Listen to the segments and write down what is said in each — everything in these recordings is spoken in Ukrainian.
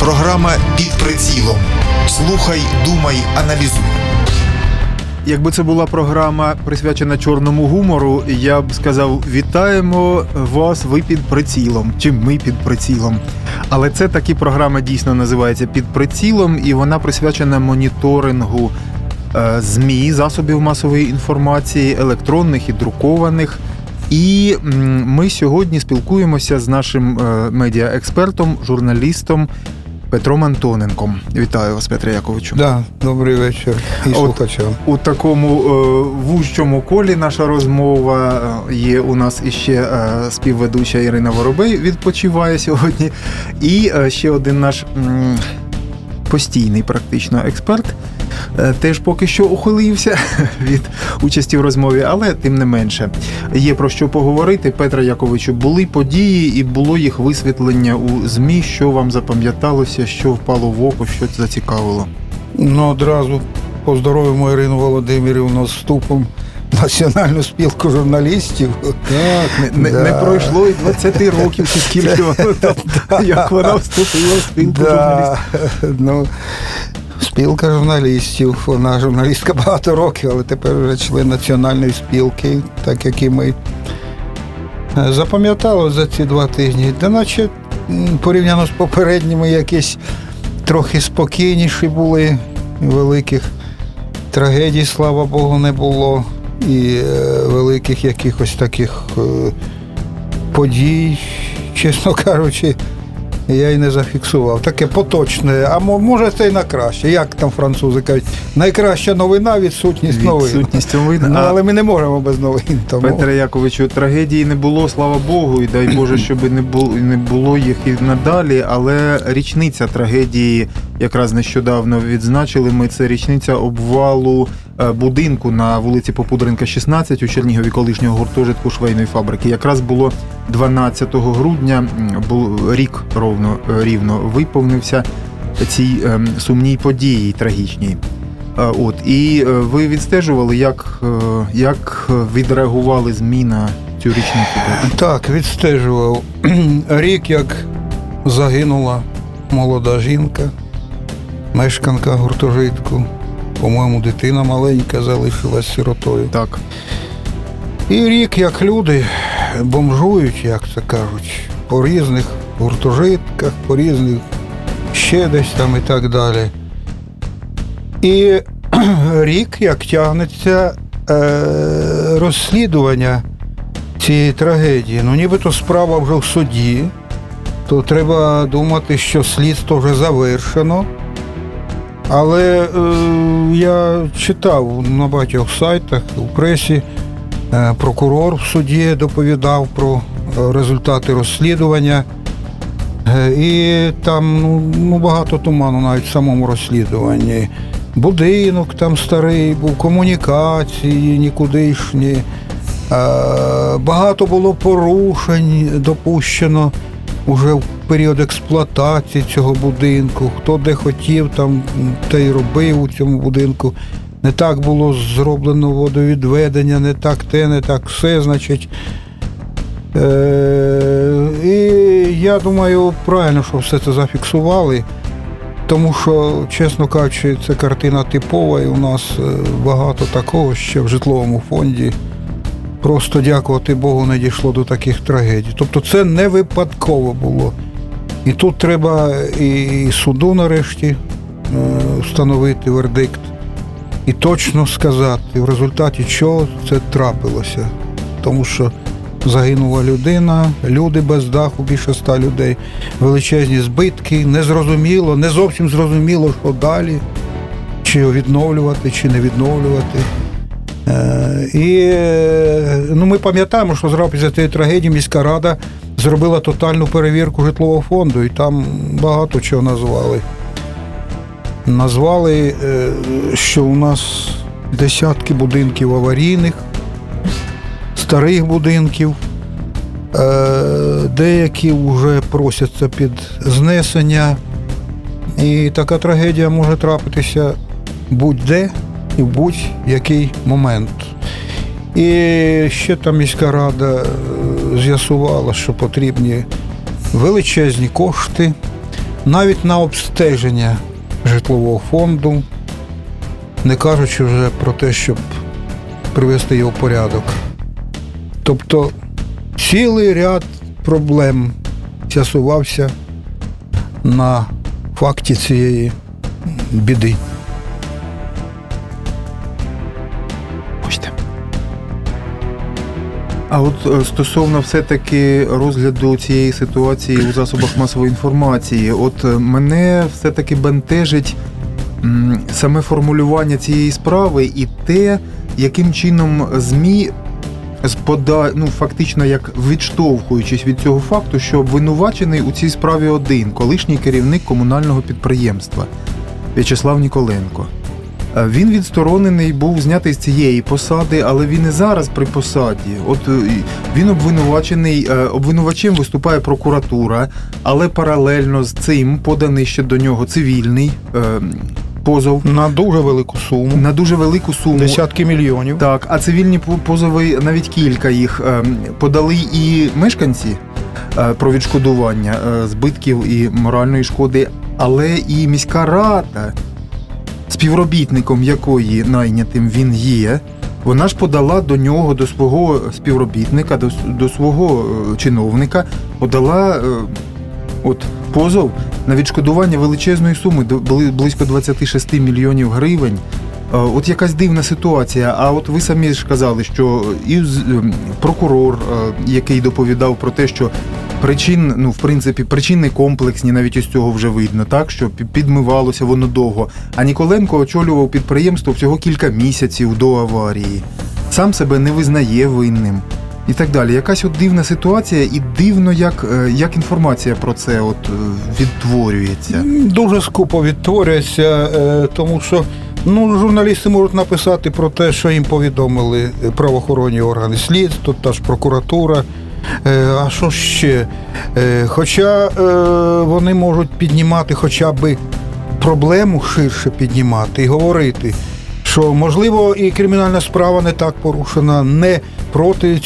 Програма «Під прицілом». Слухай, думай, аналізуй. Якби це була програма, присвячена чорному гумору, я б сказав: вітаємо вас, ви під прицілом, чи ми під прицілом. Але це таки програма дійсно називається «Під прицілом», і вона присвячена моніторингу ЗМІ, засобів масової інформації, електронних і друкованих. І ми сьогодні спілкуємося з нашим медіаекспертом, журналістом Петром Антоненком. Вітаю вас, Петре Яковичу. Да, добрий вечір і слухачам. У такому вужчому колі наша розмова. Є у нас іще співведуча Ірина Воробей, відпочиває сьогодні. І ще один наш постійний практично експерт, теж поки що ухилився від участі в розмові, але тим не менше. Є про що поговорити. Петре Яковичу, були події і було їх висвітлення у ЗМІ. Що вам запам'яталося, що впало в око, що зацікавило? Одразу поздоровимо Ірину Володимирівну з вступом в Національну спілку журналістів. Так, не пройшло і 20 років, чи скільки як вона вступила в спілку журналістів. Спілка журналістів, вона журналістка багато років, але тепер вже член Національної спілки, так як і ми. Запам'ятало за ці 2 тижні, де наче порівняно з попередніми якісь трохи спокійніші були, великих трагедій, слава Богу, не було, і великих якихось таких подій, чесно кажучи, я й не зафіксував. Таке поточне, а може це й на краще. Як там французи кажуть, найкраща новина – відсутність новин. Відсутність новин. Але ми не можемо без новин. Тому. Петре Яковичу, трагедії не було, слава Богу, і дай Боже, щоб не було їх і надалі, але річниця трагедії якраз нещодавно відзначили ми. Це річниця обвалу будинку на вулиці Попудренка, 16 у Чернігові, колишнього гуртожитку швейної фабрики. Якраз було 12 грудня, рік рівно виповнився цій сумній події трагічній. І ви відстежували, як відреагували ЗМІ на цю річницю? Так, відстежував. Рік, як загинула молода жінка, мешканка гуртожитку. По-моєму, дитина маленька залишилась сиротою. Так. І рік, як люди бомжують, як це кажуть, по різних гуртожитках, по різних ще десь там і так далі. І рік, як тягнеться розслідування цієї трагедії. Нібито справа вже в суді, то треба думати, що слідство вже завершено. Але я читав на багатьох сайтах, у пресі, прокурор в суді доповідав про результати розслідування. І там багато туману навіть в самому розслідуванні. Будинок там старий був, комунікації нікудишні. Багато було порушень допущено уже в період експлуатації цього будинку. Хто де хотів, там те й робив у цьому будинку. Не так було зроблено водовідведення, не так те, не так все, значить. І я думаю, правильно, що все це зафіксували, тому що, чесно кажучи, це картина типова, і у нас багато такого ще в житловому фонді. Просто, дякувати Богу, не дійшло до таких трагедій. Тобто це не випадково було. І тут треба і суду нарешті встановити вердикт і точно сказати, в результаті чого це трапилося. Тому що загинула людина, люди без даху, більше 100 людей, величезні збитки, незрозуміло, не зовсім зрозуміло, що далі, чи відновлювати, чи не відновлювати. І ми пам'ятаємо, що зразу після цієї трагедії міська рада зробила тотальну перевірку житлового фонду, і там багато чого назвали. Назвали, що у нас десятки будинків аварійних, старих будинків, деякі вже просяться під знесення. І така трагедія може трапитися будь-де і в будь-який момент. І ще там міська рада з'ясувала, що потрібні величезні кошти навіть на обстеження житлового фонду, не кажучи вже про те, щоб привести його в порядок. Тобто цілий ряд проблем з'ясувався на факті цієї біди. А от стосовно все-таки розгляду цієї ситуації у засобах масової інформації, от мене все-таки бентежить саме формулювання цієї справи і те, яким чином ЗМІ фактично як відштовхуючись від цього факту, що обвинувачений у цій справі один, колишній керівник комунального підприємства В'ячеслав Ніколенко. Він відсторонений, був знятий з цієї посади, але він і зараз при посаді. От він обвинувачений, обвинувачем виступає прокуратура, але паралельно з цим поданий ще до нього цивільний позов. На дуже велику суму. На дуже велику суму. Десятки мільйонів. Так, а цивільні позови, навіть кілька їх, подали і мешканці про відшкодування збитків і моральної шкоди, але і міська рада, співробітником якої найнятим він є, вона ж подала до нього, до свого співробітника, до свого чиновника, подала позов на відшкодування величезної суми, близько 26 мільйонів гривень. От якась дивна ситуація. А от ви самі ж казали, що і прокурор, який доповідав про те, що причини комплексні, навіть із цього вже видно, так, що підмивалося воно довго. А Ніколенко очолював підприємство всього кілька місяців до аварії. Сам себе не визнає винним. І так далі. Якась от дивна ситуація, і дивно, як інформація про це відтворюється. Дуже скупо відтворюється, тому що журналісти можуть написати про те, що їм повідомили правоохоронні органи слідства, та ж прокуратура. А що ще? Хоча вони можуть піднімати хоча б проблему ширше піднімати і говорити, що, можливо, і кримінальна справа не так порушена, не проти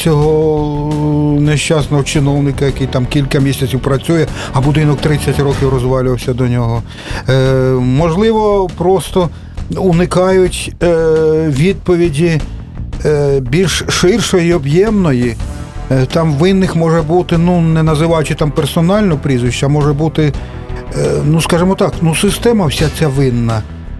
цього нещасного чиновника, який там кілька місяців працює, а будинок 30 років розвалювався до нього. Можливо, просто уникають відповіді більш ширшої і об'ємної. Там винних може бути, не називаючи там персонально прізвище, а може бути, скажімо так, система вся ця винна.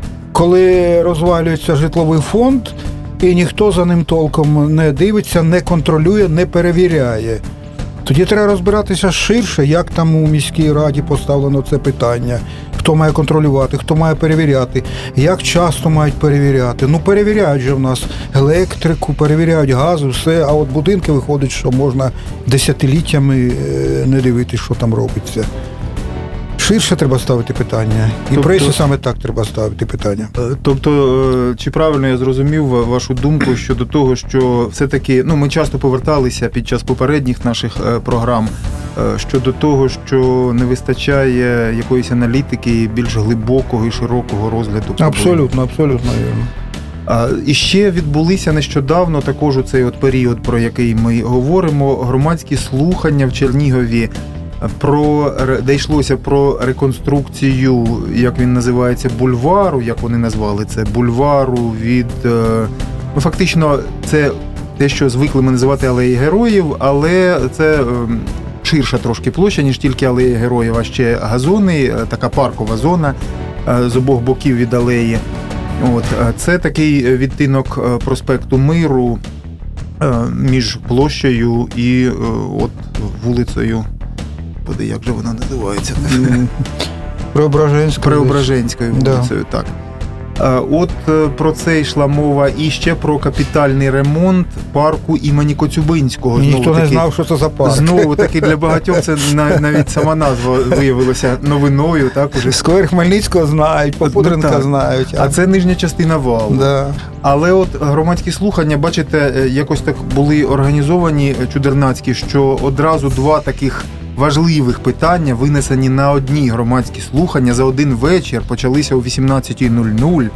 Коли розвалюється житловий фонд, і ніхто за ним толком не дивиться, не контролює, не перевіряє. Тоді треба розбиратися ширше, як там у міській раді поставлено це питання. Хто має контролювати, хто має перевіряти, як часто мають перевіряти. Перевіряють же в нас електрику, перевіряють газ, все, а от будинки виходить, що можна десятиліттями не дивитися, що там робиться. Ширше треба ставити питання. І пресі саме так треба ставити питання. Тобто, чи правильно я зрозумів вашу думку щодо того, що все-таки, ми часто поверталися під час попередніх наших програм щодо того, що не вистачає якоїсь аналітики більш глибокого і широкого розгляду? Абсолютно вірно. І ще відбулися нещодавно, також у цей період, про який ми говоримо, громадські слухання в Чернігові, де йшлося про реконструкцію, як він називається, бульвару, як вони назвали це, бульвару від... фактично, це те, що звикли ми називати Алеї Героїв, але це ширша трошки площа, ніж тільки Алеї Героїв, а ще газони, така паркова зона з обох боків від алеї. Це такий відтинок проспекту Миру між площею і вулицею. Як же вона називається? Преображенською вулицею, так. Про це йшла мова. І ще про капітальний ремонт парку імені Коцюбинського. Ніхто не знав, що це за парк. Знову таки для багатьох це навіть сама назва виявилася новиною. Сквер Хмельницького знають, Попудренка знають. А це нижня частина валу. Да. Але громадські слухання, бачите, якось так були організовані чудернацькі, що одразу два таких важливих питання винесені на одні громадські слухання за один вечір, почалися о 18:00.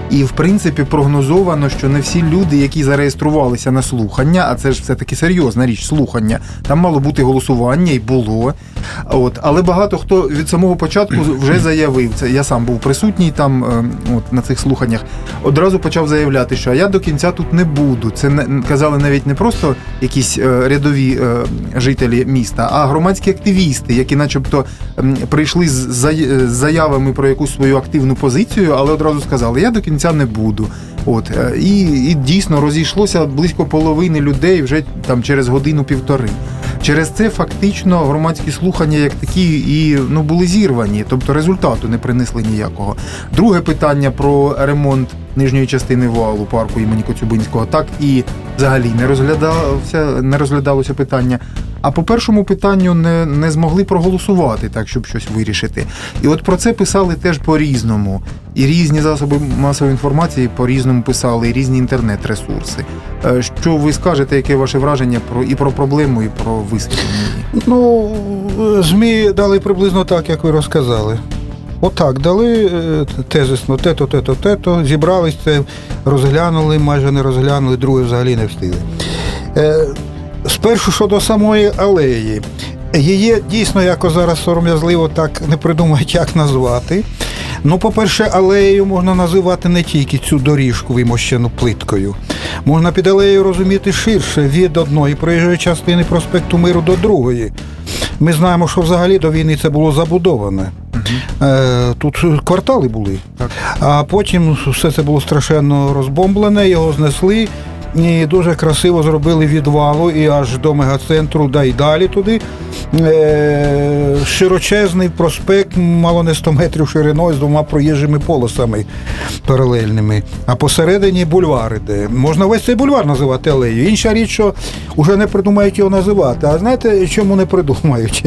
І, в принципі, прогнозовано, що не всі люди, які зареєструвалися на слухання, а це ж все-таки серйозна річ, слухання, там мало бути голосування, і було. Але багато хто від самого початку вже заявив, це я сам був присутній там на цих слуханнях, одразу почав заявляти, що я до кінця тут не буду. Це казали навіть не просто якісь рядові жителі міста, а громадські активісти, які начебто прийшли з заявами про якусь свою активну позицію, але одразу сказали, я до кінця не буду. І дійсно розійшлося близько половини людей вже там через годину-півтори. Через це фактично громадські слухання як такі були зірвані, тобто результату не принесли ніякого. Друге питання про ремонт нижньої частини валу парку імені Коцюбинського так і взагалі не розглядалося питання. А по першому питанню не змогли проголосувати так, щоб щось вирішити. І от про це писали теж по-різному. І різні засоби масової інформації по-різному писали, і різні інтернет-ресурси. Що ви скажете, яке ваше враження про проблему і про висвітлення? ЗМІ дали приблизно так, як ви розказали. Отак, дали тезисно, те-то, зібрались це, розглянули, майже не розглянули, друге взагалі не встигли. Спершу щодо самої алеї. Її дійсно якось зараз сором'язливо так не придумають, як назвати. По-перше, алеєю можна називати не тільки цю доріжку, вимощену плиткою. Можна під алеєю розуміти ширше, від одної проїжджої частини проспекту Миру до другої. Ми знаємо, що взагалі до війни це було забудоване. Тут квартали були. Так. А потім все це було страшенно розбомблене, його знесли. І дуже красиво зробили від валу і аж до мегацентру, да й далі туди. Широчезний проспект, мало не 100 метрів шириною, з 2 проїжджими полосами паралельними. А посередині бульвари, де можна весь цей бульвар називати алеєю. Інша річ, що вже не придумають його називати. А знаєте, чому не придумають?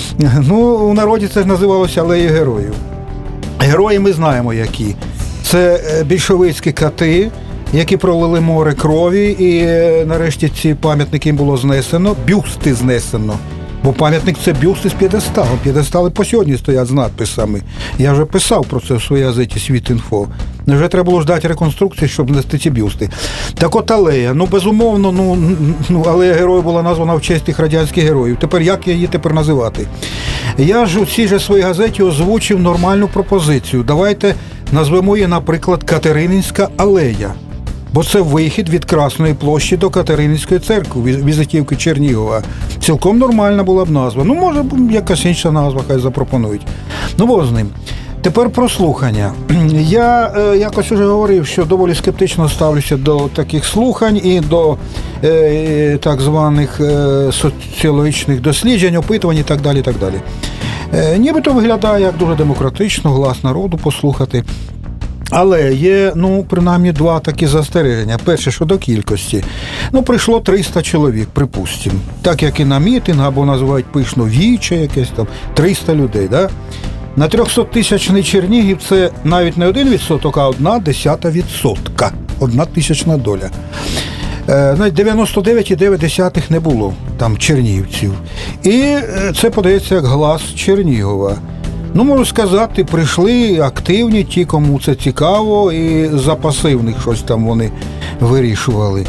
У народі це ж називалося алеєю героїв. Герої ми знаємо які. Це більшовицькі кати, які пролили море крові, і нарешті ці пам'ятники було знесено, бюсти знесено. Бо пам'ятник – це бюсти з п'єдесталом. П'єдестали по сьогодні стоять з надписами. Я вже писав про це в своїй газеті «Світ.Інфо». Вже треба було ждати реконструкції, щоб внести ці бюсти. Так от алея. Безумовно, алея героїв була названа в честь тих радянських героїв. Тепер як її називати? Я ж у цій же своїй газеті озвучив нормальну пропозицію. Давайте назвемо її, наприклад, Катерининська алея. Бо це вихід від Красної площі до Катерининської церкви, візитівки Чернігова. Цілком нормальна була б назва. Може, якась інша назва, хай запропонують. Бог з ним. Тепер про слухання. Я якось уже говорив, що доволі скептично ставлюся до таких слухань і до так званих соціологічних досліджень, опитувань і так далі, і так далі. Нібито виглядає як дуже демократично, глас народу послухати. Але є, принаймні, 2 такі застереження. Перше, щодо кількості. Прийшло 300 чоловік, припустимо. Так, як і на мітинг, або називають пишно віче якесь там, 300 людей, да? На 300-тисячний Чернігів це навіть не 1%, а 0,1%. 1/1000 доля. Навіть 99,9 не було там чернігівців. І це подається як глас Чернігова. Можу сказати, прийшли активні ті, кому це цікаво, і за пасивних щось там вони вирішували.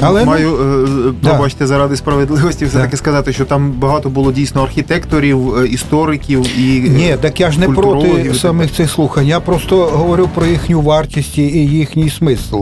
Пробачте, заради справедливості все-таки сказати, що там багато було дійсно архітекторів, істориків і Ні, так я ж не проти самих цих слухань, я просто говорю про їхню вартість і їхній смисл.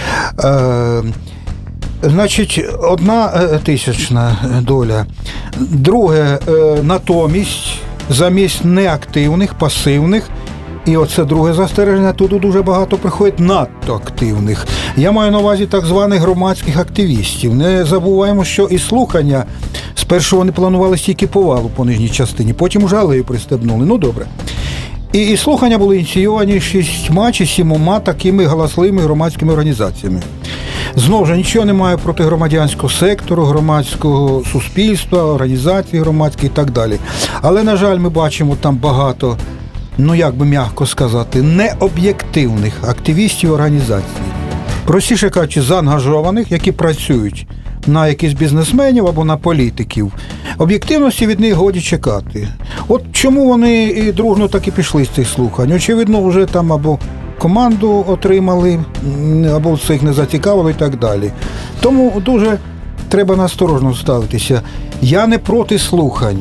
Значить, 1/1000 доля. Друге, натомість, замість неактивних, пасивних, і оце друге застереження, туди дуже багато приходить надто активних. Я маю на увазі так званих громадських активістів. Не забуваємо, що і слухання, спершу вони планували тільки по валу по нижній частині, потім уже алею пристебнули. Добре. І слухання були ініційовані 6 чи 7 такими галасливими громадськими організаціями. Знову ж, нічого немає проти громадянського сектору, громадського суспільства, організацій громадських і так далі. Але, на жаль, ми бачимо там багато, як би м'яко сказати, необ'єктивних активістів організацій. Простіше кажучи, заангажованих, які працюють на якихось бізнесменів або на політиків. Об'єктивності від них годі чекати. От чому вони і дружно так і пішли з цих слухань? Очевидно, вже там або команду отримали, або це їх не зацікавило і так далі. Тому дуже треба насторожно ставитися. Я не проти слухань.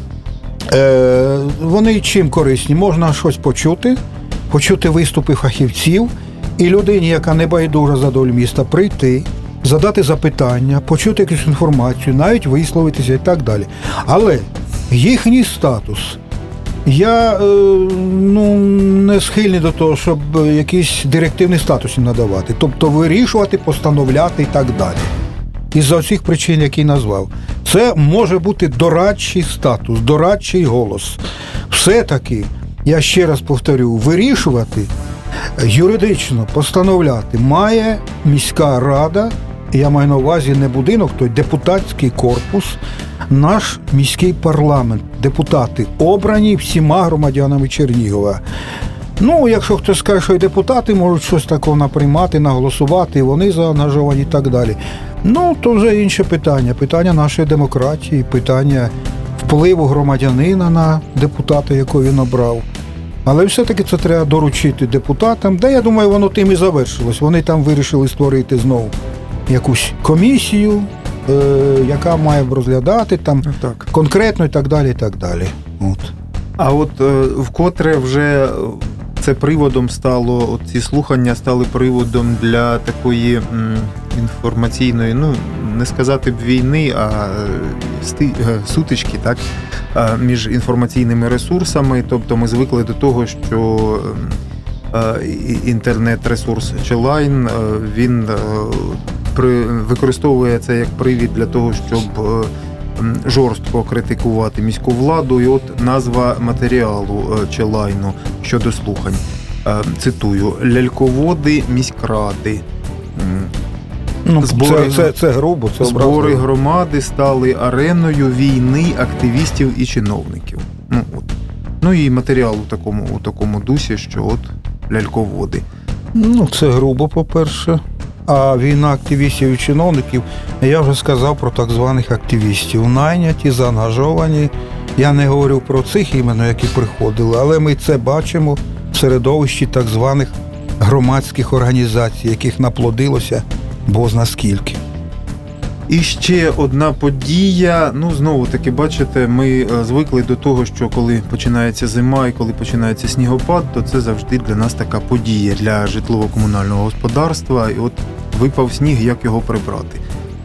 Вони чим корисні? Можна щось почути виступи фахівців, і людині, яка не байдужа за долю міста, прийти, задати запитання, почути якусь інформацію, навіть висловитися і так далі. Але їхній статус, я не схильний до того, щоб якийсь директивний статус їм надавати, тобто вирішувати, постановляти і так далі. Із-за всіх причин, які назвав. Це може бути дорадчий статус, дорадчий голос. Все-таки, я ще раз повторю, вирішувати, юридично постановляти має міська рада, я маю на увазі не будинок, той депутатський корпус, наш міський парламент, депутати обрані всіма громадянами Чернігова. Якщо хтось скаже, що і депутати можуть щось такого наприймати, наголосувати, і вони заангажовані і так далі. То вже інше питання. Питання нашої демократії, питання впливу громадянина на депутата, якого він обрав. Але все-таки це треба доручити депутатам, де, я думаю, воно тим і завершилось. Вони там вирішили створити знову якусь комісію, яка має розглядати там конкретно і так далі, і так далі. А вкотре вже це приводом стало, ці слухання стали приводом для такої інформаційної, не сказати б війни, а сутички, так, між інформаційними ресурсами. Тобто ми звикли до того, що інтернет-ресурс Cheline, він використовує це як привід для того, щоб жорстко критикувати міську владу. І назва матеріалу Cheline щодо слухань. Цитую: «Ляльководи міськради». Це грубо, це образливо. Збори громади стали ареною війни активістів і чиновників. І матеріал у такому дусі, що ляльководи. Це грубо, по-перше. А війна активістів і чиновників, я вже сказав про так званих активістів. Найняті, заангажовані. Я не говорю про цих іменно, які приходили, але ми це бачимо в середовищі так званих громадських організацій, яких наплодилося бозна скільки. І ще одна подія. Знову-таки, бачите, ми звикли до того, що коли починається зима і коли починається снігопад, то це завжди для нас така подія для житлово-комунального господарства. І випав сніг, як його прибрати.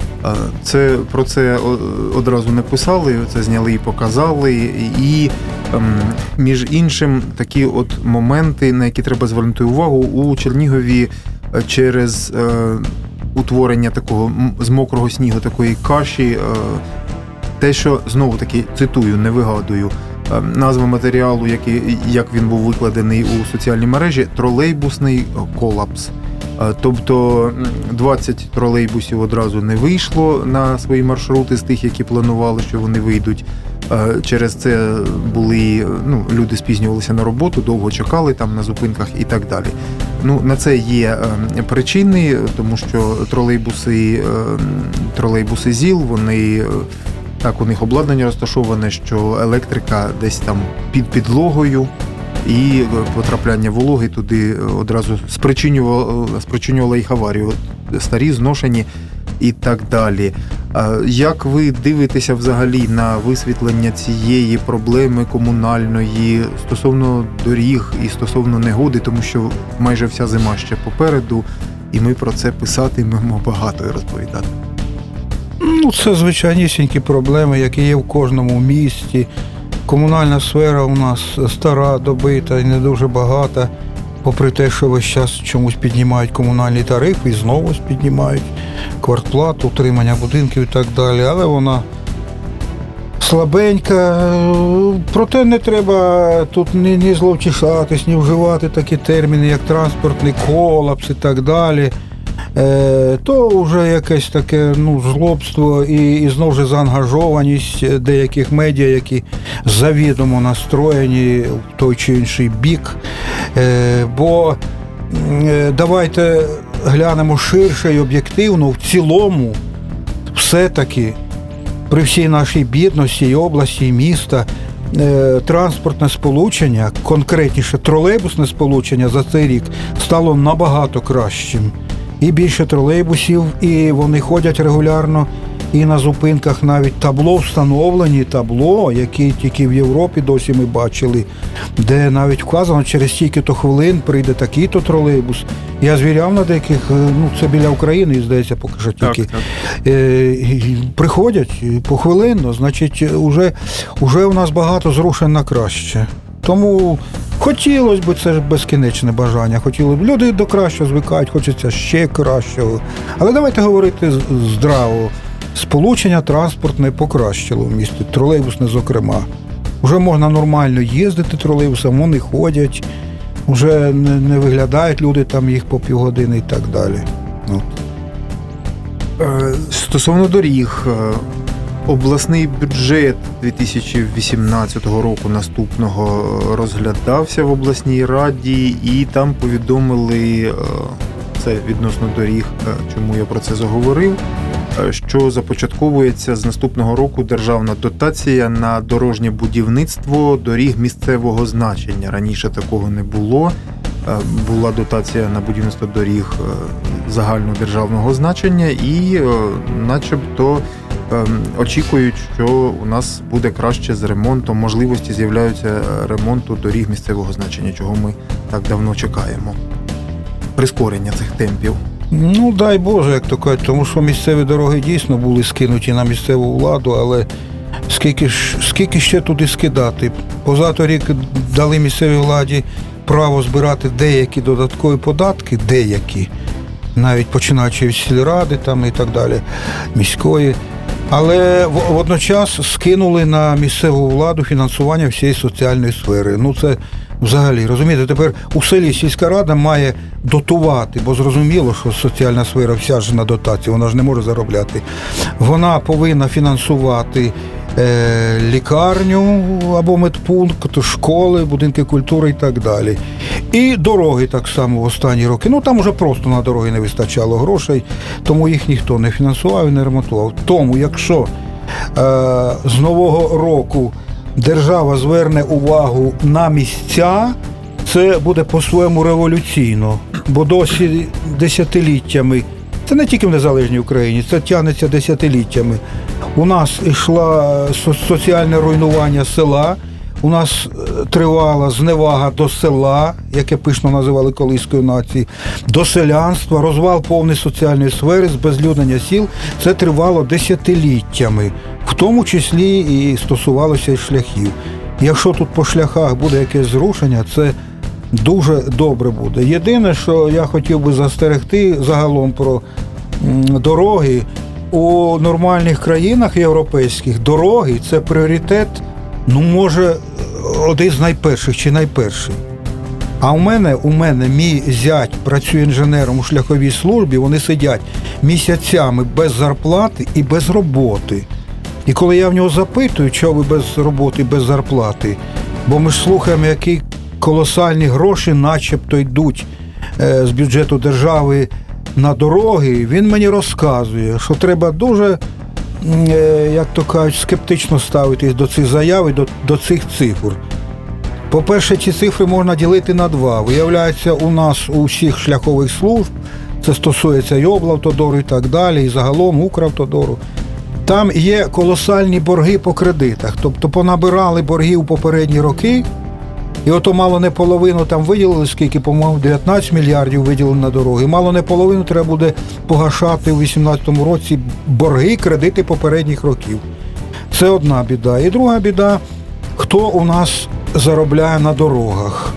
Про це одразу написали, це зняли і показали. І, між іншим, такі моменти, на які треба звернути увагу, у Чернігові через утворення такого з мокрого снігу, такої каші, те, що, знову-таки, цитую, не вигадую, назва матеріалу, як він був викладений у соціальній мережі, тролейбусний колапс. Тобто 20 тролейбусів одразу не вийшло на свої маршрути з тих, які планували, що вони вийдуть. Через це люди спізнювалися на роботу, довго чекали там на зупинках і так далі. На це є причини, тому що тролейбуси ЗІЛ, у них обладнання розташоване, що електрика десь там під підлогою, і потрапляння вологи туди одразу спричинювало їх аварію. Старі, зношені і так далі. Як ви дивитеся взагалі на висвітлення цієї проблеми комунальної стосовно доріг і стосовно негоди, тому що майже вся зима ще попереду, і ми про це писатимемо багато і розповідати? Це звичайнісінькі проблеми, які є в кожному місті. Комунальна сфера у нас стара, добита і не дуже багата, попри те, що весь час чомусь піднімають комунальні тарифи і знову піднімають квартплату, утримання будинків і так далі, але вона слабенька. Проте не треба тут ні зловтішатись, ні вживати такі терміни, як транспортний колапс і так далі. То вже якесь таке жлобство і знову ж заангажованість деяких медіа, які завідомо настроєні в той чи інший бік. Бо давайте глянемо ширше і об'єктивно, в цілому все-таки при всій нашій бідності і області, і міста транспортне сполучення, конкретніше тролейбусне сполучення за цей рік стало набагато кращим. І більше тролейбусів, і вони ходять регулярно, і на зупинках навіть встановлені табло, які тільки в Європі досі ми бачили, де навіть вказано, через стільки-то хвилин прийде такий-то тролейбус. Я звіряв на деяких, це біля України, здається, поки що тільки. Так. Приходять похвилинно, значить, уже у нас багато зрушень на краще. Тому хотілося б, це ж безкінечне бажання, люди до кращого звикають, хочеться ще кращого. Але давайте говорити здраво. Сполучення транспортне покращило в місті, тролейбусне зокрема. Вже можна нормально їздити тролейбусом, вони ходять, вже не виглядають люди там їх по півгодини і так далі. Стосовно доріг, обласний бюджет 2018 року наступного розглядався в обласній раді, і там повідомили, це відносно доріг, чому я про це заговорив, що започатковується з наступного року державна дотація на дорожнє будівництво доріг місцевого значення. Раніше такого не було. Була дотація на будівництво доріг загальнодержавного значення і начебто очікують, що у нас буде краще з ремонтом, можливості з'являються ремонту доріг місцевого значення, чого ми так давно чекаємо. Прискорення цих темпів. Дай Боже, як то кажуть, тому що місцеві дороги дійсно були скинуті на місцеву владу, але скільки ще туди скидати? Позаторік дали місцевій владі право збирати деякі додаткові податки, навіть починаючи від сільради там і так далі, міської. Але водночас скинули на місцеву владу фінансування всієї соціальної сфери. Це взагалі, розумієте, тепер у селі сільська рада має дотувати, бо зрозуміло, що соціальна сфера вся ж на дотації, вона ж не може заробляти. Вона повинна фінансувати лікарню або медпункт, школи, будинки культури і так далі. І дороги так само в останні роки. Там уже просто на дороги не вистачало грошей, тому їх ніхто не фінансував і не ремонтував. Тому, якщо з нового року держава зверне увагу на місця, це буде по-своєму революційно, бо досі десятиліттями, це не тільки в незалежній Україні, це тягнеться десятиліттями. У нас йшло соціальне руйнування села, у нас тривала зневага до села, яке пишно називали колиською нації, до селянства, розвал повний соціальної сфери, збезлюднення сіл. Це тривало десятиліттями, в тому числі і стосувалося і шляхів. Якщо тут по шляхах буде якесь зрушення, це дуже добре буде. Єдине, що я хотів би застерегти загалом про дороги, у нормальних країнах європейських дороги – це пріоритет, може, один з найперших чи найперший. А у мене мій зять працює інженером у шляховій службі, вони сидять місяцями без зарплати і без роботи. І коли я в нього запитую, чого ви без роботи, без зарплати, бо ми ж слухаємо, які колосальні гроші начебто йдуть з бюджету держави на дороги, він мені розказує, що треба дуже, як то кажуть, скептично ставитись до цих заяв і до цих цифр. По-перше, ці цифри можна ділити на два. Виявляється, у нас у всіх шляхових служб, це стосується і облавтодору і так далі, і загалом Укравтодору, там є колосальні борги по кредитах. Тобто понабирали борги у попередні роки, і ото мало не половину там виділили, скільки, по-моєму, 19 мільярдів виділили на дороги. Мало не половину треба буде погашати у 2018 році борги, кредити попередніх років. Це одна біда. І друга біда, хто у нас заробляє на дорогах.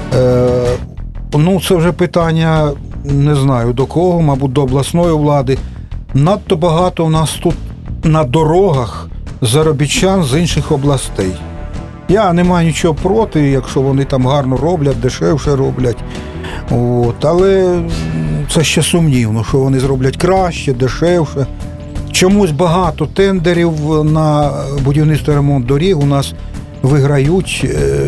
Це вже питання, не знаю до кого, мабуть, до обласної влади. Надто багато у нас тут на дорогах заробітчан з інших областей. Я не маю нічого проти, якщо вони там гарно роблять, дешевше роблять. Але це ще сумнівно, що вони зроблять краще, дешевше. Чомусь багато тендерів на будівництво і ремонт доріг у нас виграють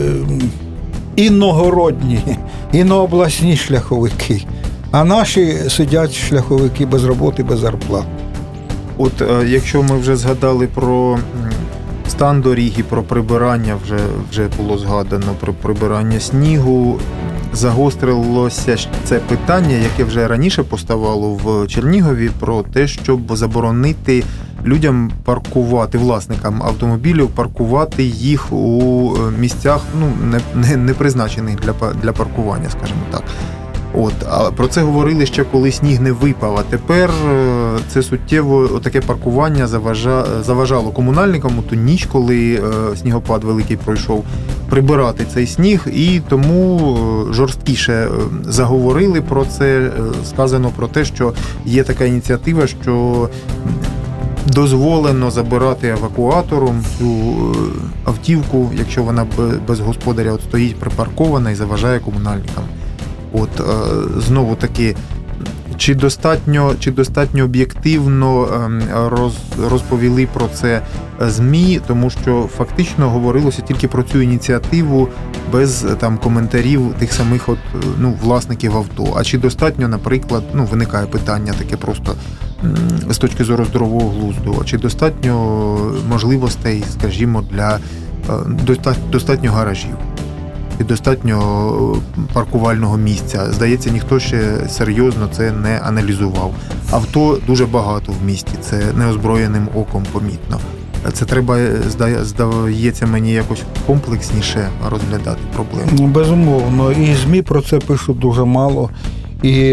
іногородні, інообласні шляховики. А наші сидять шляховики без роботи, без зарплат. Якщо ми вже згадали про стан доріг і про прибирання вже було згадано, про прибирання снігу. Загострилося це питання, яке вже раніше поставало в Чернігові, про те, щоб заборонити людям паркувати, власникам автомобілів, паркувати їх у місцях, не призначених для паркування, скажімо так. А про це говорили ще коли сніг не випав, а тепер це суттєво таке паркування заважало комунальникам у ту ніч, коли снігопад великий пройшов, прибирати цей сніг, і тому жорсткіше заговорили про це, сказано про те, що є така ініціатива, що дозволено забирати евакуатором цю автівку, якщо вона без господаря стоїть припаркована і заважає комунальникам. Знову таки, чи достатньо об'єктивно розповіли про це ЗМІ, тому що фактично говорилося тільки про цю ініціативу без коментарів тих самих власників авто. А чи достатньо, наприклад, виникає питання таке просто з точки зору здорового глузду, чи достатньо можливостей, скажімо, достатньо гаражів? І достатньо паркувального місця. Здається, ніхто ще серйозно це не аналізував. Авто дуже багато в місті, це неозброєним оком помітно. Це треба, здається мені, якось комплексніше розглядати проблему. Безумовно. І ЗМІ про це пишуть дуже мало. І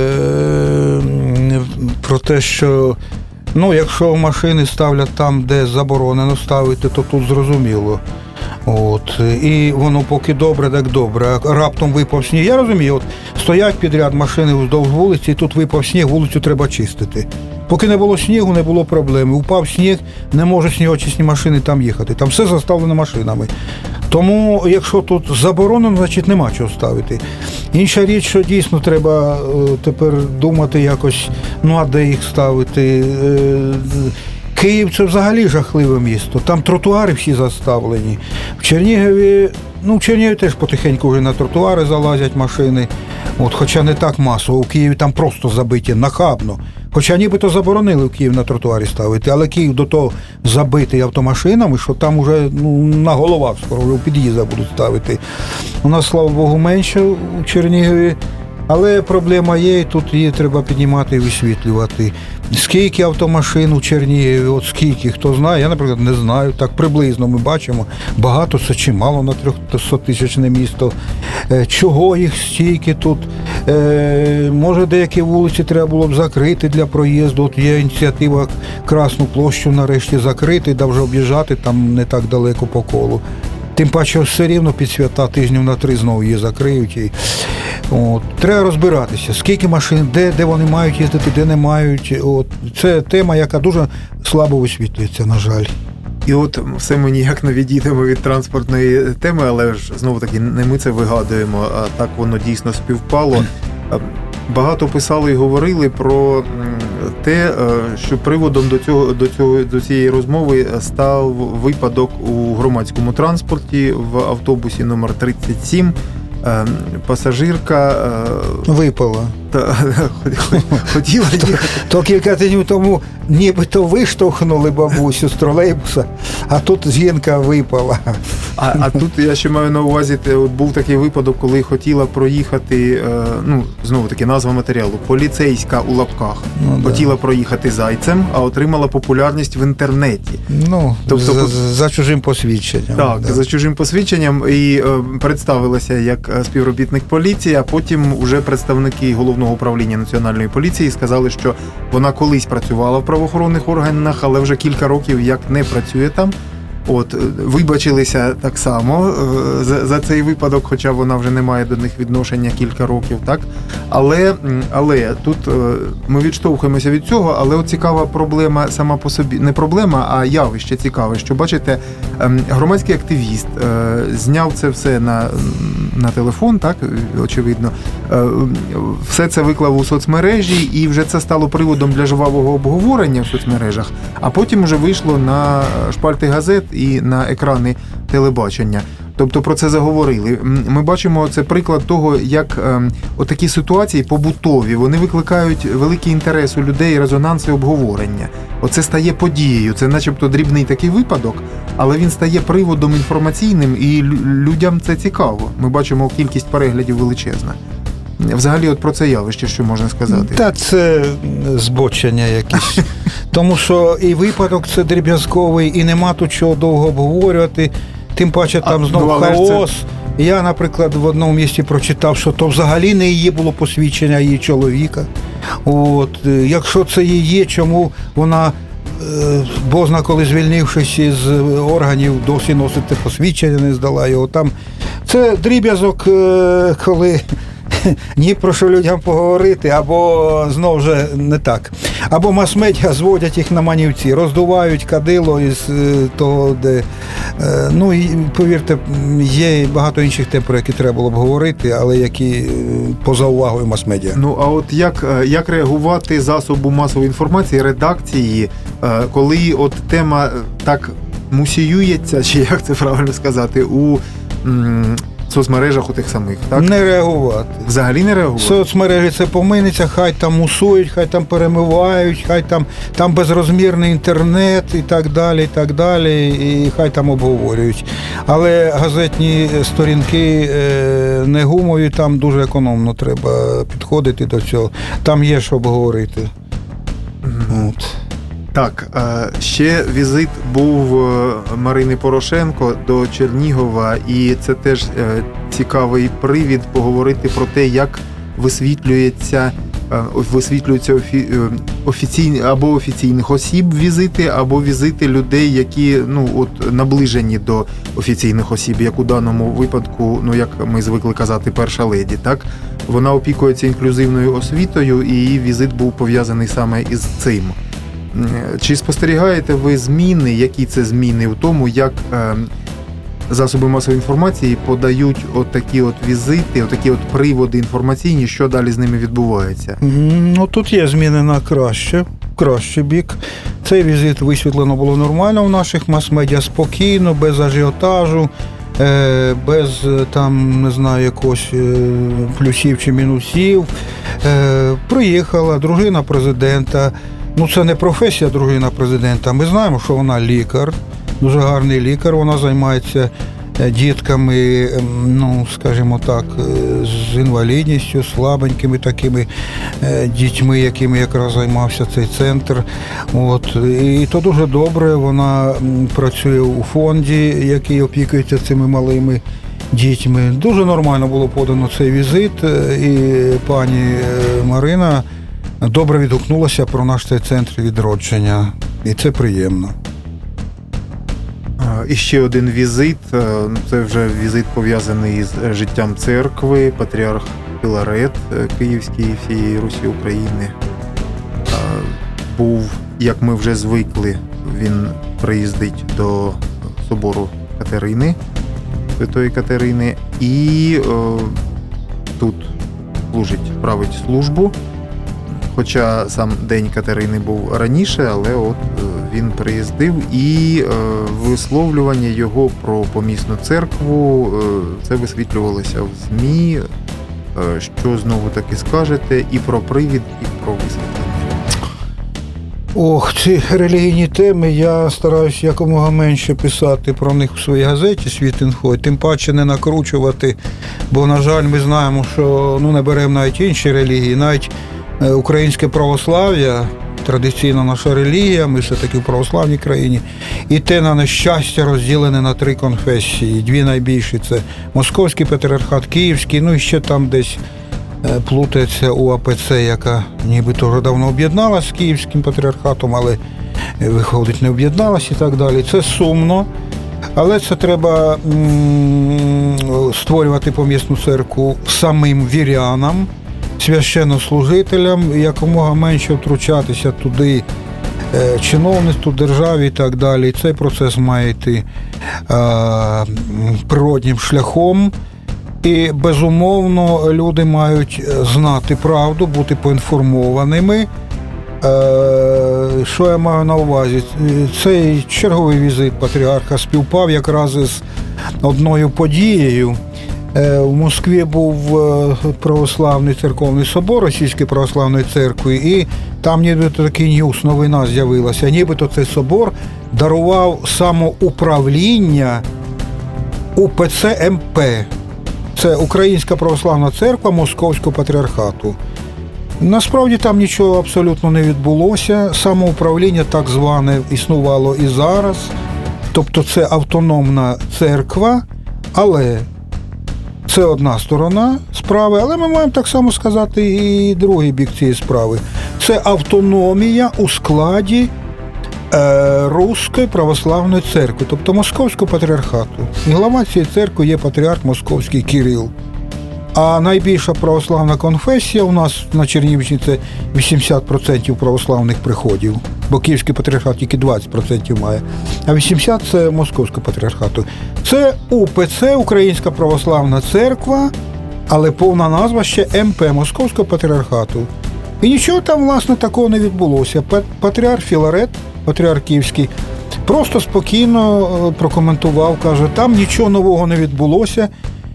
про те, що якщо машини ставлять там, де заборонено ставити, то тут зрозуміло. І воно поки добре, так добре. Раптом випав сніг. Я розумію, стоять підряд машини вздовж вулиці, і тут випав сніг, вулицю треба чистити. Поки не було снігу, не було проблеми. Упав сніг, не можуть снігочисні машини там їхати. Там все заставлено машинами. Тому, якщо тут заборонено, значить нема чого ставити. Інша річ, що дійсно треба тепер думати якось, а де їх ставити. Київ – це взагалі жахливе місто. Там тротуари всі заставлені. В Чернігові теж потихеньку вже на тротуари залазять машини. Хоча не так масово. У Києві там просто забиті, нахабно. Хоча нібито заборонили в Київ на тротуарі ставити, але Київ до того забитий автомашинами, що там уже на головах скоро вже у під'їздах будуть ставити. У нас, слава Богу, менше у Чернігові. Але проблема є, і тут її треба піднімати і висвітлювати. Скільки автомашин у Чернігові, скільки, хто знає, я, наприклад, не знаю. Так приблизно ми бачимо, багато це чи мало на 300-тисячне місто. Чого їх стільки тут? Може, деякі вулиці треба було б закрити для проїзду. Є ініціатива Красну площу нарешті закрити, да вже об'їжджати там не так далеко по колу. Тим паче все рівно під свята тижнів на 3 знову її закриють. Треба розбиратися, скільки машин, де вони мають їздити, де не мають. Це тема, яка дуже слабо висвітлюється, на жаль. І все ми ніяк не відійдемо від транспортної теми, але ж знову-таки не ми це вигадуємо, а так воно дійсно співпало. Багато писали і говорили про те, що приводом до цієї розмови став випадок у громадському транспорті в автобусі номер 37. Пасажирка випала. Хотіла їхати. То кілька тижнів тому нібито виштовхнули бабусю з тролейбуса, а тут жінка випала. А тут я ще маю на увазі, був такий випадок, коли хотіла проїхати, знову таки назва матеріалу, поліцейська у лапках. Хотіла проїхати зайцем, а отримала популярність в інтернеті. Тобто, за чужим посвідченням. Так, за чужим посвідченням, і представилася як співробітник поліції, а потім уже представники Головного управління Національної поліції сказали, що вона колись працювала в правоохоронних органах, але вже кілька років як не працює там. Вибачилися так само за цей випадок, хоча вона вже не має до них відношення кілька років, так? Але тут ми відштовхуємося від цього, але цікава проблема сама по собі, не проблема, а явище цікаве, що, бачите, громадський активіст зняв це все на телефон, так, очевидно, все це виклав у соцмережі, і вже це стало приводом для жвавого обговорення в соцмережах, а потім вже вийшло на шпальти газет і на екрани телебачення. Тобто про це заговорили. Ми бачимо, це приклад того, як отакі ситуації побутові, вони викликають великий інтерес у людей, резонанс і обговорення. Оце стає подією, це начебто дрібний такий випадок, але він стає приводом інформаційним, і людям це цікаво. Ми бачимо, кількість переглядів величезна. Взагалі, от про це явище, що можна сказати? Та це збочення якесь. Тому що і випадок це дріб'язковий, і нема тут чого довго обговорювати. Тим паче там знову хаос. Я, наприклад, в одному місці прочитав, що то взагалі не її було посвідчення, її чоловіка. От, якщо це її, чому вона, бозна коли звільнившись із органів, досі носить те посвідчення, не здала його. Там це дріб'язок, коли ні про що людям поговорити, або знову ж не так. Або мас-медіа зводять їх на манівці, роздувають кадило із того, де... Ну, і, повірте, є багато інших тем, про які треба було б говорити, але які поза увагою мас-медіа. Ну, а от як реагувати засобу масової інформації, редакції, коли от тема так мусіюється, чи як це правильно сказати, у соцмережах у тих самих, так? Не реагувати. Взагалі не реагувати? Соцмережі це поминиться, хай там мусують, хай там перемивають, хай там безрозмірний інтернет і так далі, і хай там обговорюють. Але газетні сторінки не гумові, там дуже економно треба підходити до цього. Там є що обговорити. От. Так, ще візит був Марини Порошенко до Чернігова, і це теж цікавий привід поговорити про те, як висвітлюються офіційні або офіційних осіб візити, або візити людей, які наближені до офіційних осіб, як у даному випадку, як ми звикли казати, перша леді, так? Вона опікується інклюзивною освітою, і її візит був пов'язаний саме із цим. Чи спостерігаєте ви зміни, які це зміни в тому, як засоби масової інформації подають отакі от візити, отакі от приводи інформаційні, що далі з ними відбувається? Ну, тут є зміни на кращий бік. Цей візит висвітлено було нормально в наших мас-медіа, спокійно, без ажіотажу, без там, не знаю, якогось плюсів чи мінусів. Приїхала дружина президента. Ну, це не професія дружина президента. Ми знаємо, що вона лікар, дуже гарний лікар. Вона займається дітками, скажімо так, з інвалідністю, слабенькими такими дітьми, якими якраз займався цей центр. От. І то дуже добре. Вона працює у фонді, який опікується цими малими дітьми. Дуже нормально було подано цей візит. І пані Марина добре відгукнулася про наш цей центр відродження. І це приємно. І ще один візит. Це вже візит пов'язаний з життям церкви. Патріарх Філарет Київський всієї Русі України був, як ми вже звикли, він приїздить до собору Катерини, Святої Катерини, і тут править службу. Хоча сам День Катерини був раніше, але от він приїздив, і висловлювання його про помісну церкву, це висвітлювалося в ЗМІ. Що знову таки скажете і про привід, і про висвітлення? Ці релігійні теми, я стараюся якомога менше писати про них у своїй газеті «Світ.Інфо», тим паче не накручувати, бо, на жаль, ми знаємо, що не беремо навіть інші релігії, навіть українське православ'я, традиційна наша релігія, ми все-таки в православній країні, і те, на нещастя, розділене на 3 конфесії. 2 найбільші – це Московський патріархат, Київський, і ще там десь плутається УАПЦ, яка нібито вже давно об'єдналася з Київським патріархатом, але, виходить, не об'єдналася і так далі. Це сумно, але це треба створювати помісну церкву самим вірянам, священнослужителям, якомога менше втручатися туди чиновництву, державі і так далі. Цей процес має йти природнім шляхом. І, безумовно, люди мають знати правду, бути поінформованими, Що я маю на увазі? Цей черговий візит патріарха співпав якраз із одною подією. В Москві був православний церковний собор Російської православної церкви, і там нібито такий ньюс, новина з'явилася. Нібито цей собор дарував самоуправління УПЦ МП. Це Українська православна церква Московського патріархату. Насправді там нічого абсолютно не відбулося. Самоуправління так зване існувало і зараз. Тобто це автономна церква, але це одна сторона справи, але ми маємо так само сказати і другий бік цієї справи. Це автономія у складі Руської православної церкви, тобто Московського патріархату. І глава цієї церкви є патріарх Московський Кирил. А найбільша православна конфесія у нас на Чернігівщині – це 80% православних приходів, бо Київський патріархат тільки 20% має, а 80% – це Московського патріархату. Це УПЦ, Українська православна церква, але повна назва ще МП, Московського патріархату. І нічого там, власне, такого не відбулося. Патріарх Філарет, патріарх Київський, просто спокійно прокоментував, каже, там нічого нового не відбулося,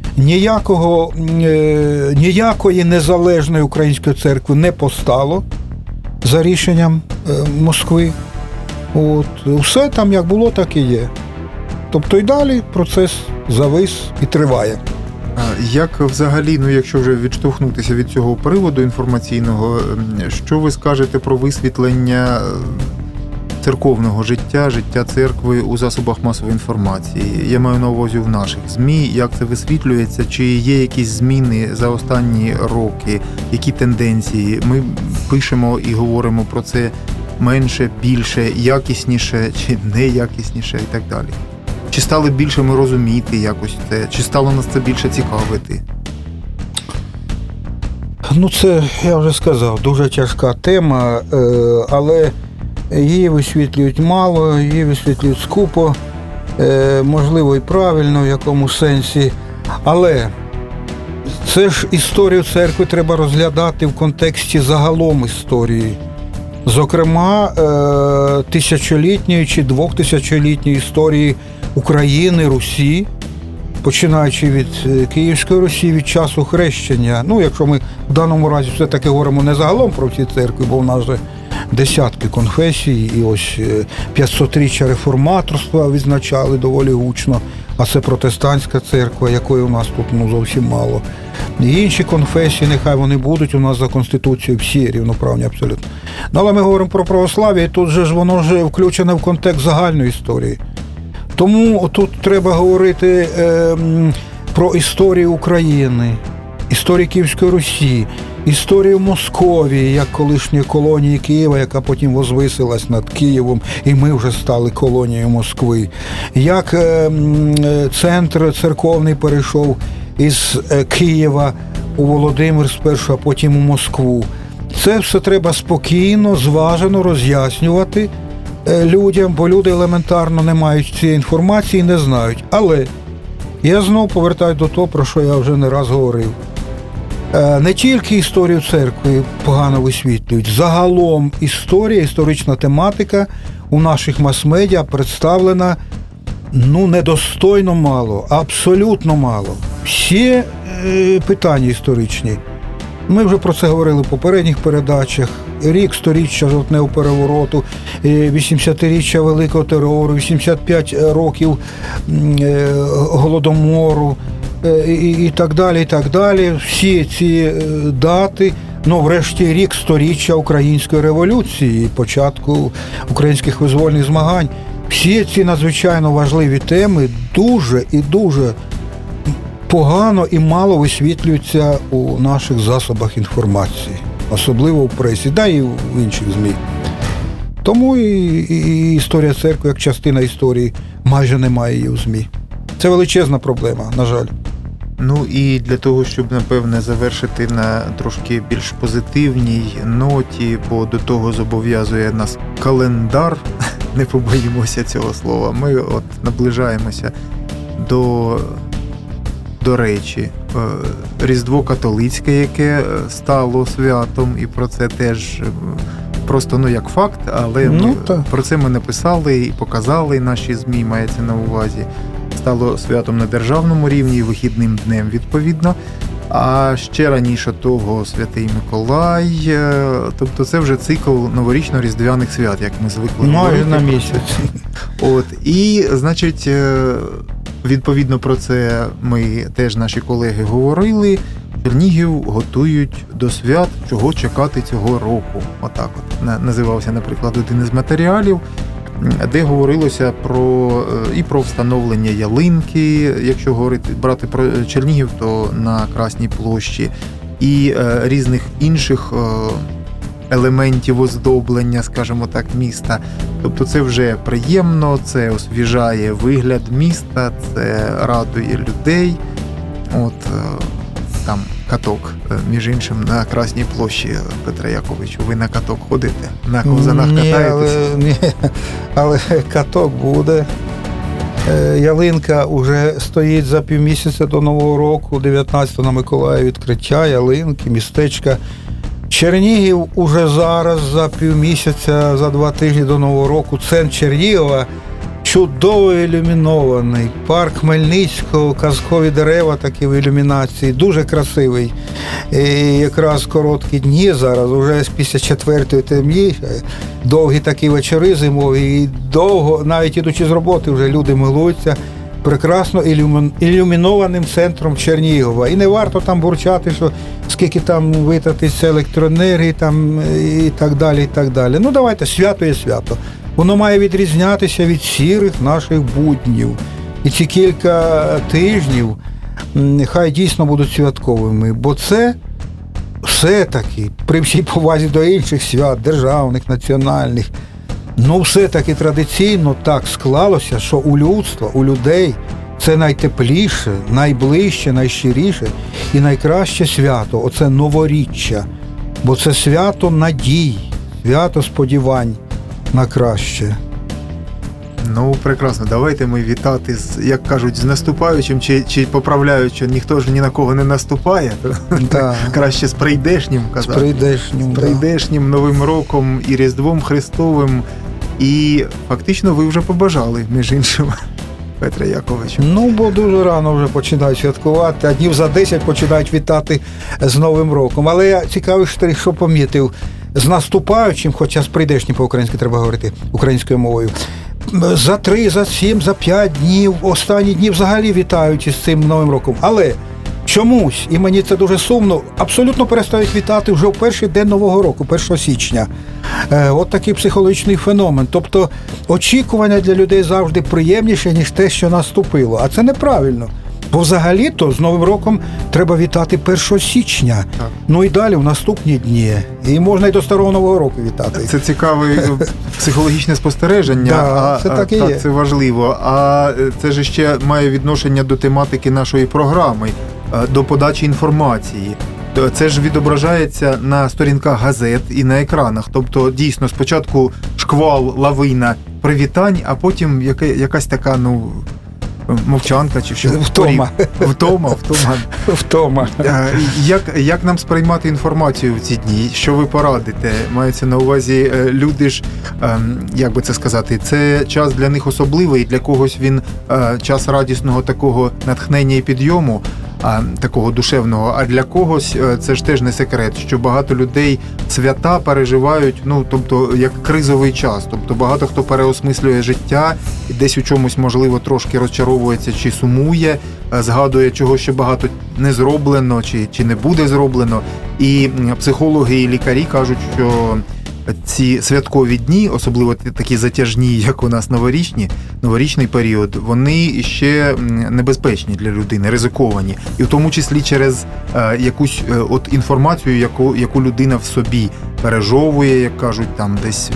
ніякої незалежної української церкви не постало за рішенням Москви. Все там як було, так і є. Тобто і далі процес завис і триває. Як взагалі, якщо вже відштовхнутися від цього приводу інформаційного, що ви скажете про висвітлення церковного життя церкви у засобах масової інформації? Я маю на увазі в наших ЗМІ, як це висвітлюється, чи є якісь зміни за останні роки, які тенденції? Ми пишемо і говоримо про це менше, більше, якісніше чи неякісніше і так далі. Чи стали більше ми розуміти якось це? Чи стало нас це більше цікавити? Це, я вже сказав, дуже тяжка тема, але її висвітлюють мало, її висвітлюють скупо, можливо і правильно в якому сенсі. Але це ж історію церкви треба розглядати в контексті загалом історії. Зокрема, тисячолітньої чи двохтисячолітньої історії України, Русі, починаючи від Київської Русі, від часу хрещення. Якщо ми в даному разі все-таки говоримо не загалом про всі церкви, бо в нас же десятки конфесій, і ось 500-річчя реформаторства відзначали доволі гучно, а це протестантська церква, якої у нас тут зовсім мало. І інші конфесії, нехай вони будуть у нас за Конституцією, всі рівноправні абсолютно. Але ми говоримо про православ'я, і тут же ж воно вже включене в контекст загальної історії. Тому тут треба говорити про історію України, історію Київської Русі, історію Московії, як колишньої колонії Києва, яка потім возвисилась над Києвом, і ми вже стали колонією Москви. Як центр церковний перейшов із Києва у Володимир спершу, а потім у Москву. Це все треба спокійно, зважено роз'яснювати людям, бо люди елементарно не мають цієї інформації і не знають. Але я знову повертаюся до того, про що я вже не раз говорив. Не тільки історію церкви погано висвітлюють, загалом історія, історична тематика у наших мас-медіа представлена недостойно мало, абсолютно мало. Всі питання історичні. Ми вже про це говорили в попередніх передачах. Рік 100-річчя жовтневого перевороту, 80-річчя Великого терору, 85 років Голодомору і так далі, і так далі. Всі ці дати, врешті рік 100-річчя Української революції, початку українських визвольних змагань. Всі ці надзвичайно важливі теми дуже і дуже погано і мало висвітлюються у наших засобах інформації, особливо в пресі, і в інших ЗМІ. Тому і історія церкви, як частина історії, майже немає її у ЗМІ. Це величезна проблема, на жаль. І для того, щоб, напевне, завершити на трошки більш позитивній ноті, бо до того зобов'язує нас календар, не побоїмося цього слова, ми наближаємося до речі, Різдво католицьке, яке стало святом, і про це теж просто як факт, але про це ми написали і показали наші ЗМІ, мається на увазі. Стало святом на державному рівні і вихідним днем відповідно. А ще раніше того Святий Миколай, тобто це вже цикл новорічно-різдвяних свят, як ми звикли говорити. Майже на місяць. І, значить, відповідно про це ми теж наші колеги говорили. Чернігів готують до свят, чого чекати цього року. Отак от називався, наприклад, один із матеріалів, де говорилося про встановлення ялинки, якщо брати про Чернігів, то на Красній площі, і різних інших елементів оздоблення, скажімо так, міста. Тобто це вже приємно, це освіжає вигляд міста, це радує людей. Там каток, між іншим, на Красній площі, Петре Яковичу. Ви на каток ходите? На ковзанах катаєтесь? Ні, але каток буде. Ялинка вже стоїть за півмісяця до Нового року, 19-го на Миколая відкриття ялинки, містечка. Чернігів уже зараз за півмісяця, за 2 тижні до Нового року, центр Чернігова чудово ілюмінований. Парк Хмельницького, казкові дерева такі в ілюмінації, дуже красивий. І якраз короткі дні зараз, уже після 4-ї темніше, довгі такі вечори зимові, і довго, навіть ідучи з роботи, вже люди милуються прекрасно ілюмінованим центром Чернігова. І не варто там бурчати, що скільки там витратиться електроенергії там, і так далі, і так далі. Давайте, свято є свято. Воно має відрізнятися від сірих наших буднів. І ці кілька тижнів хай дійсно будуть святковими, бо це все-таки, при всій повазі до інших свят, державних, національних, все-таки традиційно так склалося, що у людства, у людей це найтепліше, найближче, найщиріше і найкраще свято. Оце новоріччя, бо це свято надій, свято сподівань на краще. Прекрасно. Давайте ми вітати, як кажуть, з наступаючим, чи поправляють, що ніхто ж ні на кого не наступає. Да. Краще з прийдешнім казати. З прийдешнім Новим роком і Різдвом Христовим. І фактично ви вже побажали, між іншим, Петре Яковичу. Бо дуже рано вже починають святкувати, а днів за 10 починають вітати з Новим роком. Але я цікавий, що помітив, з наступаючим, хоча з прийдешнім по-українськи треба говорити українською мовою, за 3, за 7, за 5 днів, останні дні взагалі вітають із цим Новим роком. Але чомусь, і мені це дуже сумно, абсолютно перестають вітати вже в перший день Нового року, 1 січня. От такий психологічний феномен. Тобто очікування для людей завжди приємніше, ніж те, що наступило. А це неправильно. Бо взагалі-то з Новим роком треба вітати 1 січня. Так. І далі в наступні дні. І можна і до Старого Нового року вітати. Це цікаве психологічне спостереження. Да, це так і є. Це важливо. А це ж ще має відношення до тематики нашої програми, до подачі інформації. Це ж відображається на сторінках газет і на екранах. Тобто, дійсно, спочатку шквал, лавина привітань, а потім якась така, мовчанка чи що? Втома. Як нам сприймати інформацію в ці дні? Що ви порадите? Мається на увазі, люди ж, як би це сказати, це час для них особливий, для когось він час радісного такого натхнення і підйому, такого душевного, а для когось це ж теж не секрет, що багато людей свята переживають, тобто як кризовий час, тобто багато хто переосмислює життя і десь у чомусь, можливо, трошки розчаровується чи сумує, згадує, чого ще багато не зроблено чи не буде зроблено, і психологи і лікарі кажуть, що ці святкові дні, особливо такі затяжні, як у нас новорічний період, вони ще небезпечні для людини, ризиковані. І в тому числі через якусь інформацію, яку людина в собі пережовує, як кажуть, там десь.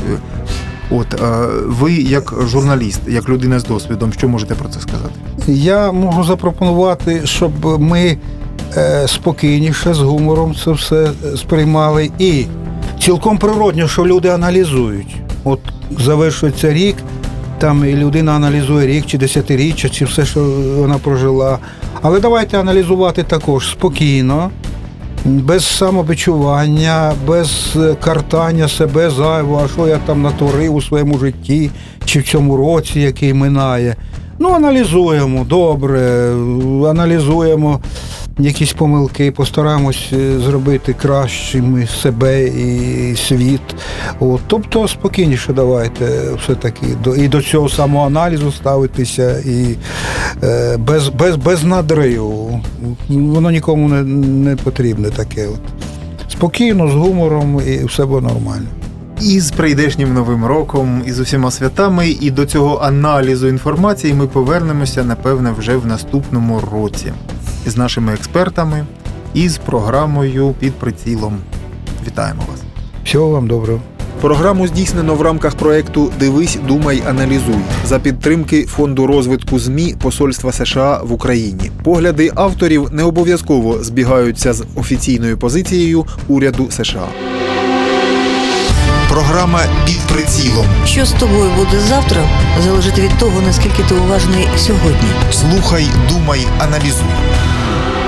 Ви як журналіст, як людина з досвідом, що можете про це сказати? Я можу запропонувати, щоб ми спокійніше, з гумором це все сприймали. І цілком природно, що люди аналізують. От завершується рік, там і людина аналізує рік, чи десятиріччя, чи все, що вона прожила. Але давайте аналізувати також спокійно, без самобичування, без картання себе зайвого, а що я там натворив у своєму житті чи в цьому році, який минає. Аналізуємо добре, аналізуємо якісь помилки, постараємось зробити кращими себе і світ. Тобто спокійніше давайте все-таки і до цього самоаналізу ставитися, і без надриву. Воно нікому не потрібне таке. Спокійно, з гумором, і все буде нормально. І з прийдешнім Новим роком, і з усіма святами, і до цього аналізу інформації ми повернемося, напевне, вже в наступному році. Із нашими експертами, і з програмою «Під прицілом». Вітаємо вас. Всього вам доброго. Програму здійснено в рамках проєкту «Дивись, думай, аналізуй» за підтримки Фонду розвитку ЗМІ Посольства США в Україні. Погляди авторів не обов'язково збігаються з офіційною позицією уряду США. Програма «Під прицілом». Що з тобою буде завтра, залежить від того, наскільки ти уважний сьогодні. Слухай, думай, аналізуй.